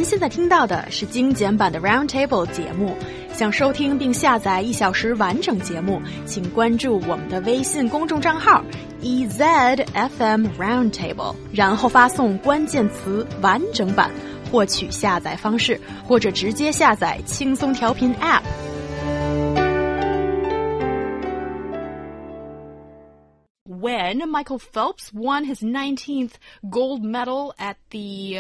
现在听到的是精简版的 Roundtable 节目。想收听并下载1小时完整节目，请关注我们的微信公众账号 EZFM Roundtable， 然后发送关键词完整版获取下载方式，或者直接下载轻松调频 App。When Michael Phelps won his 19th gold medal at the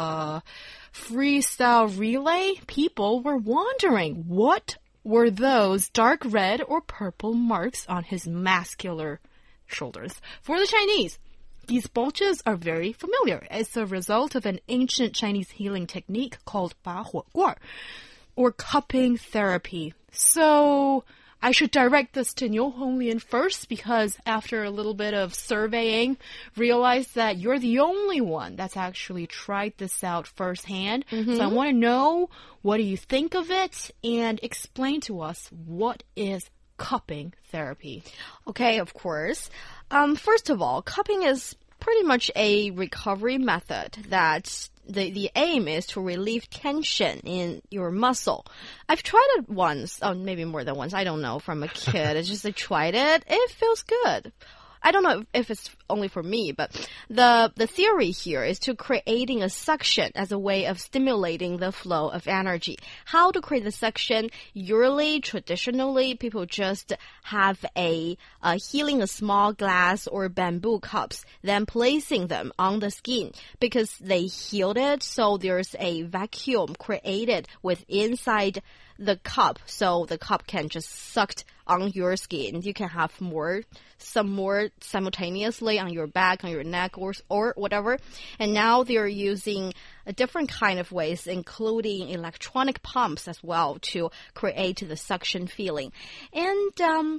freestyle relay, people were wondering what were those dark red or purple marks on his muscular shoulders. For the Chinese, these bulges are very familiar. It's a result of an ancient Chinese healing technique called 拔火罐, or cupping therapy. So I should direct this to Niu Honglin first, because after a little bit of surveying, realized that you're the only one that's actually tried this out firsthand. So I want to know, what do you think of it? And explain to us, what is cupping therapy? Okay, of course. First of all, cupping is pretty much a recovery method that the aim is to relieve tension in your muscle. I've tried it once, maybe more than once, I don't know, from a kid. It's just I tried it. It feels good. I don't know if it's only for me, but the theory here is to creating a suction as a way of stimulating the flow of energy. How to create the suction? Usually, traditionally, people just have healing a small glass or bamboo cups, then placing them on the skin because they healed it. So there's a vacuum created with inside the cup, so the cup can just suck on your skin. You can have some more simultaneously on your back, on your neck, or whatever. And now they're using a different kind of ways, including electronic pumps as well, to create the suction feeling. And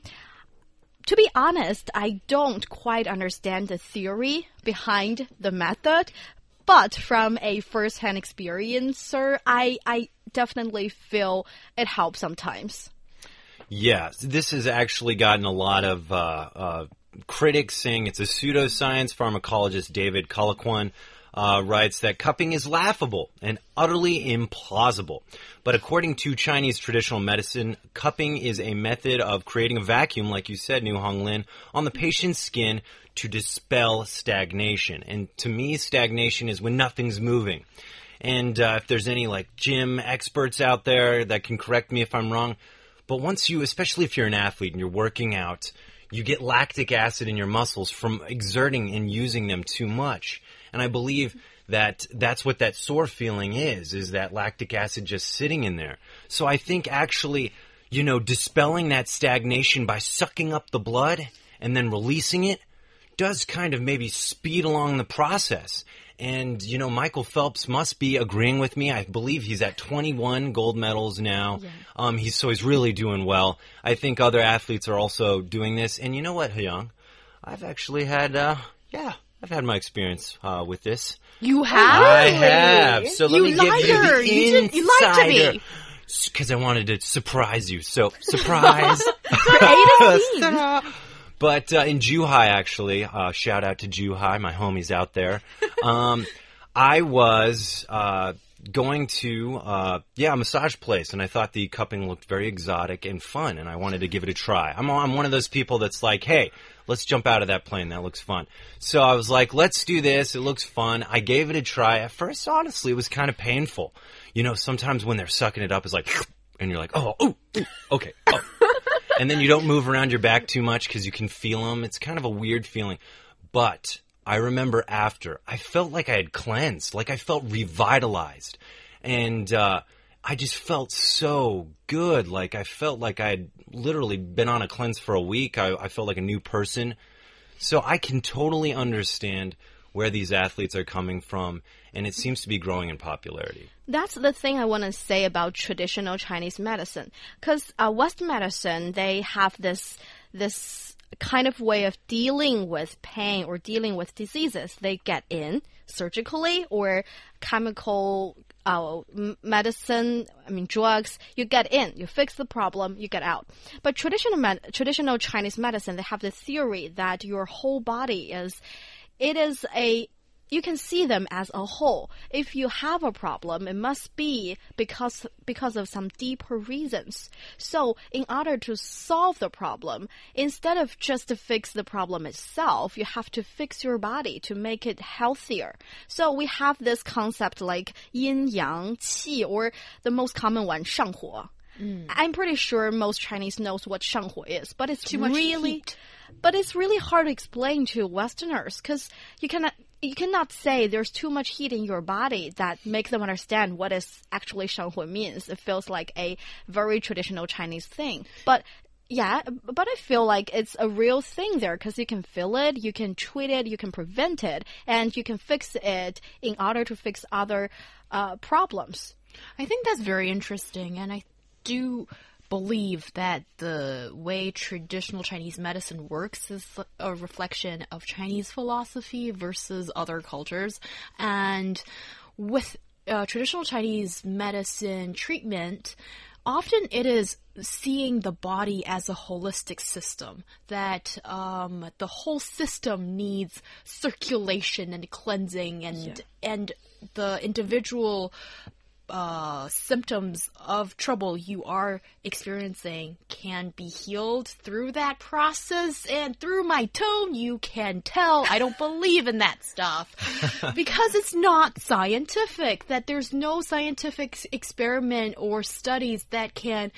to be honest, I don't quite understand the theory behind the method. But from a first-hand experiencer, I definitely feel it helps sometimes. Yeah, this has actually gotten a lot of critics saying it's a pseudoscience. Pharmacologist David Colquhoun writes that cupping is laughable and utterly implausible. But according to Chinese traditional medicine, cupping is a method of creating a vacuum, like you said, Niu Honglin, on the patient's skin to dispel stagnation. And to me, stagnation is when nothing's moving. And if there's any gym experts out there that can correct me if I'm wrong, but once you, especially if you're an athlete and you're working out, you get lactic acid in your muscles from exerting and using them too much. And I believe that that's what that sore feeling is that lactic acid just sitting in there. So I think actually, dispelling that stagnation by sucking up the blood and then releasing it does kind of maybe speed along the process. And, Michael Phelps must be agreeing with me. I believe he's at 21 gold medals now. Yeah. He's really doing well. I think other athletes are also doing this. And you know what, Hyung? I've actually had, I've had my experience with this. You have? I have. So let me give you the insider. You lied to me. Because I wanted to surprise you. So, surprise. But in Zhuhai, actually, shout out to Zhuhai, my homies out there. I was going to a massage place, and I thought the cupping looked very exotic and fun, and I wanted to give it a try. I'm one of those people that's like, hey, let's jump out of that plane. That looks fun. So I was like, let's do this. It looks fun. I gave it a try. At first, honestly, it was kind of painful. Sometimes when they're sucking it up, it's like, and you're like, okay, oh. And then you don't move around your back too much because you can feel them. It's kind of a weird feeling. But I remember after, I felt like I had cleansed, like I felt revitalized. And I just felt so good. Like I felt like I had literally been on a cleanse for a week. I felt like a new person. So I can totally understand where these athletes are coming from, and it seems to be growing in popularity. That's the thing I want to say about traditional Chinese medicine. Because Western medicine, they have this kind of way of dealing with pain or dealing with diseases. They get in surgically or chemical medicine, drugs. You get in, you fix the problem, you get out. But traditional Chinese medicine, they have the theory that your whole body is a you can see them as a whole. If you have a problem, it must be because of some deeper reasons. So in order to solve the problem, instead of just to fix the problem itself, you have to fix your body to make it healthier. So we have this concept like yin yang qi, or the most common one, 上火. I'm pretty sure most Chinese knows what 上火 is, but it's Too much heat. But it's really hard to explain to Westerners because you cannot say there's too much heat in your body that makes them understand what is actually 上火 means. It feels like a very traditional Chinese thing. But yeah, but I feel like it's a real thing there because you can feel it, you can treat it, you can prevent it, and you can fix it in order to fix other problems. I think that's very interesting, and I do believe that the way traditional Chinese medicine works is a reflection of Chinese philosophy versus other cultures. And with traditional Chinese medicine treatment, often it is seeing the body as a holistic system, that the whole system needs circulation and cleansing, and the individual symptoms of trouble you are experiencing can be healed through that process. And through my tone, you can tell I don't believe in that stuff because it's not scientific, that there's no scientific experiment or studies that can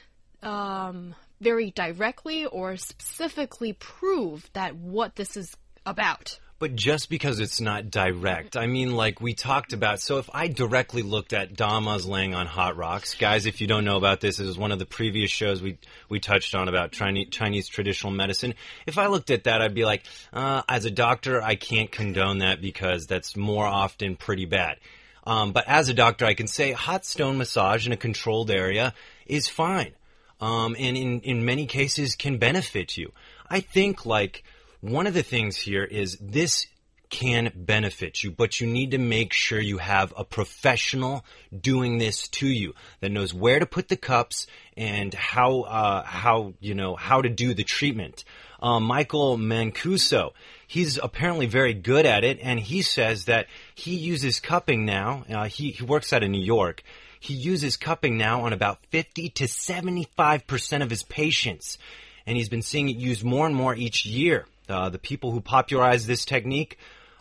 very directly or specifically prove that what this is about. But just because it's not direct, I mean, like we talked about, so if I directly looked at Dama's laying on hot rocks, guys, if you don't know about this, it was one of the previous shows we touched on about Chinese traditional medicine. If I looked at that, I'd be like, as a doctor, I can't condone that because that's more often pretty bad. But as a doctor, I can say hot stone massage in a controlled area is fine. And in many cases can benefit you. I think like one of the things here is this can benefit you, but you need to make sure you have a professional doing this to you that knows where to put the cups and how to do the treatment. Michael Mancuso, he's apparently very good at it, and he says that he uses cupping now. He works out of New York. He uses cupping now on about 50 to 75% of his patients, and he's been seeing it used more and more each year. The people who popularized this technique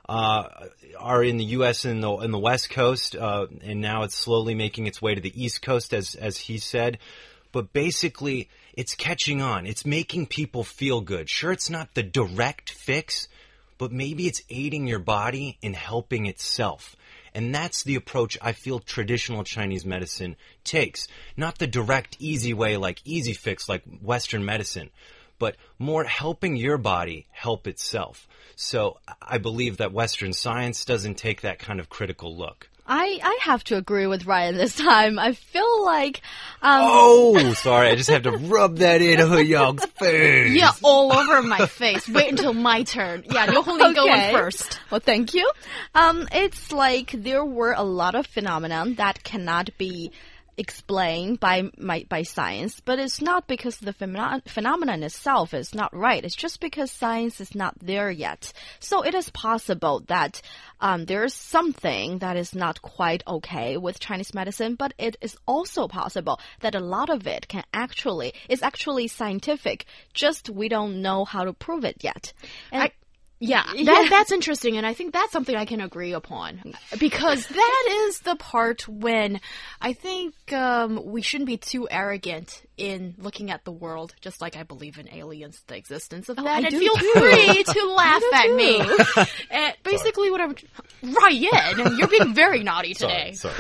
are in the U.S. and in the West Coast, and now it's slowly making its way to the East Coast, as he said. But basically, it's catching on. It's making people feel good. Sure, it's not the direct fix, but maybe it's aiding your body in helping itself. And that's the approach I feel traditional Chinese medicine takes. Not the direct, easy way, like easy fix, like Western medicine, but more helping your body help itself. So I believe that Western science doesn't take that kind of critical look. I have to agree with Ryan this time. I feel like... Oh, sorry. I just have to rub that in Huyang's face. Yeah, all over my face. Wait until my turn. Yeah, Liu Honglin going first. Well, thank you. It's like there were a lot of phenomena that cannot be explained by science, but it's not because the phenomenon itself is not right. It's just because science is not there yet. So it is possible that there is something that is not quite okay with Chinese medicine, but it is also possible that a lot of it is actually scientific. Just we don't know how to prove it yet. And that's interesting, and I think that's something I can agree upon, because that is the part when I think we shouldn't be too arrogant in looking at the world, just like I believe in aliens, the existence of that, and feel free to laugh at me. And basically what I'm... Ryan, you're being very naughty today. Sorry.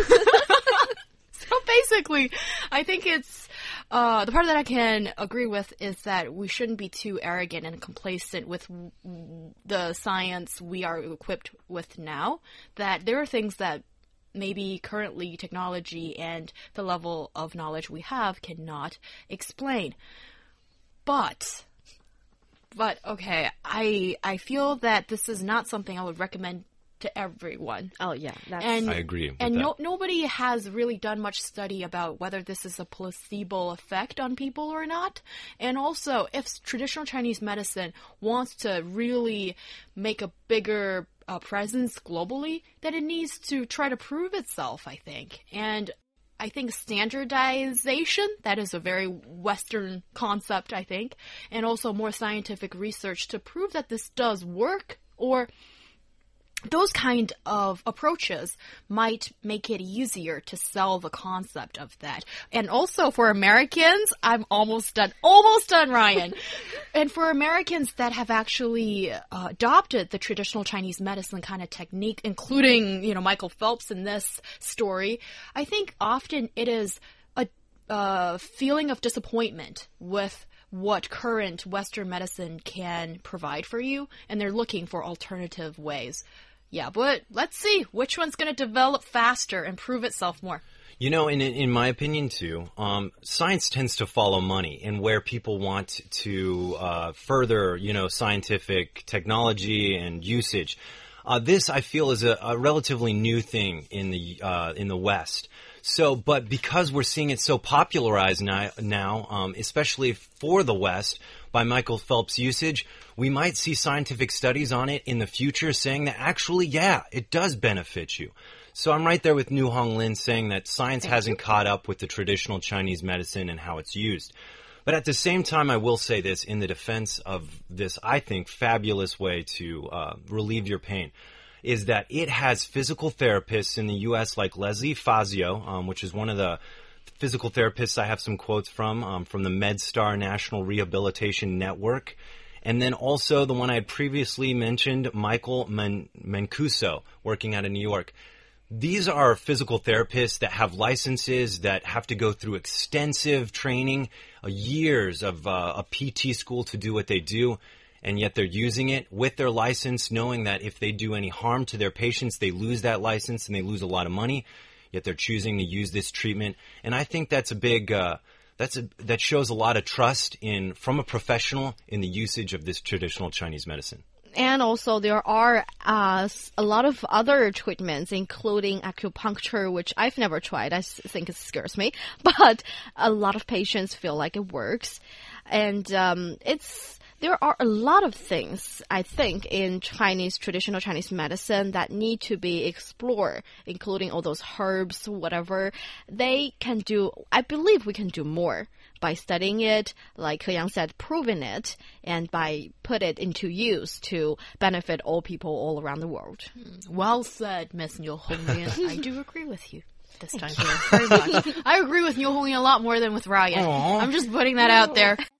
So basically, I think it's... the part that I can agree with is that we shouldn't be too arrogant and complacent with the science we are equipped with now. That there are things that maybe currently technology and the level of knowledge we have cannot explain. But okay, I feel that this is not something I would recommend to everyone. Oh, yeah. I agree with and that. Nobody has really done much study about whether this is a placebo effect on people or not. And also, if traditional Chinese medicine wants to really make a bigger presence globally, that it needs to try to prove itself, I think. And I think standardization, that is a very Western concept, I think, and also more scientific research to prove that this does work, or those kind of approaches might make it easier to sell the concept of that. And also for Americans, I'm almost done, Ryan. And for Americans that have actually adopted the traditional Chinese medicine kind of technique, including, Michael Phelps in this story, I think often it is a feeling of disappointment with what current Western medicine can provide for you, and they're looking for alternative ways. Yeah, but let's see which one's going to develop faster and prove itself more. In my opinion, too, science tends to follow money, and where people want to further, scientific technology and usage. This, I feel, is a relatively new thing in the West. So, but because we're seeing it so popularized now, especially for the West, by Michael Phelps' usage, we might see scientific studies on it in the future saying that actually, yeah, it does benefit you. So I'm right there with New Hong Lin saying that science hasn't caught up with the traditional Chinese medicine and how it's used. But at the same time, I will say this in the defense of this, I think, fabulous way to relieve your pain, is that it has physical therapists in the U.S. like Leslie Fazio, which is one of the physical therapists I have some quotes from the MedStar National Rehabilitation Network. And then also the one I had previously mentioned, Michael Mancuso, working out of New York. These are physical therapists that have licenses that have to go through extensive training, years of a PT school to do what they do, and yet they're using it with their license, knowing that if they do any harm to their patients, they lose that license and they lose a lot of money, yet they're choosing to use this treatment. And I think that's a big... that shows a lot of trust from a professional in the usage of this traditional Chinese medicine. And also there are a lot of other treatments, including acupuncture, which I've never tried. I think it scares me. But a lot of patients feel like it works. And there are a lot of things, I think, in traditional Chinese medicine that need to be explored, including all those herbs, whatever. They can do, I believe we can do more by studying it, like Ke Yang said, proving it, and by put it into use to benefit all people all around the world. Well said, Miss Niu Honglin. I do agree with you this time very much. I agree with Niu Honglin a lot more than with Ryan. I'm just putting that out there.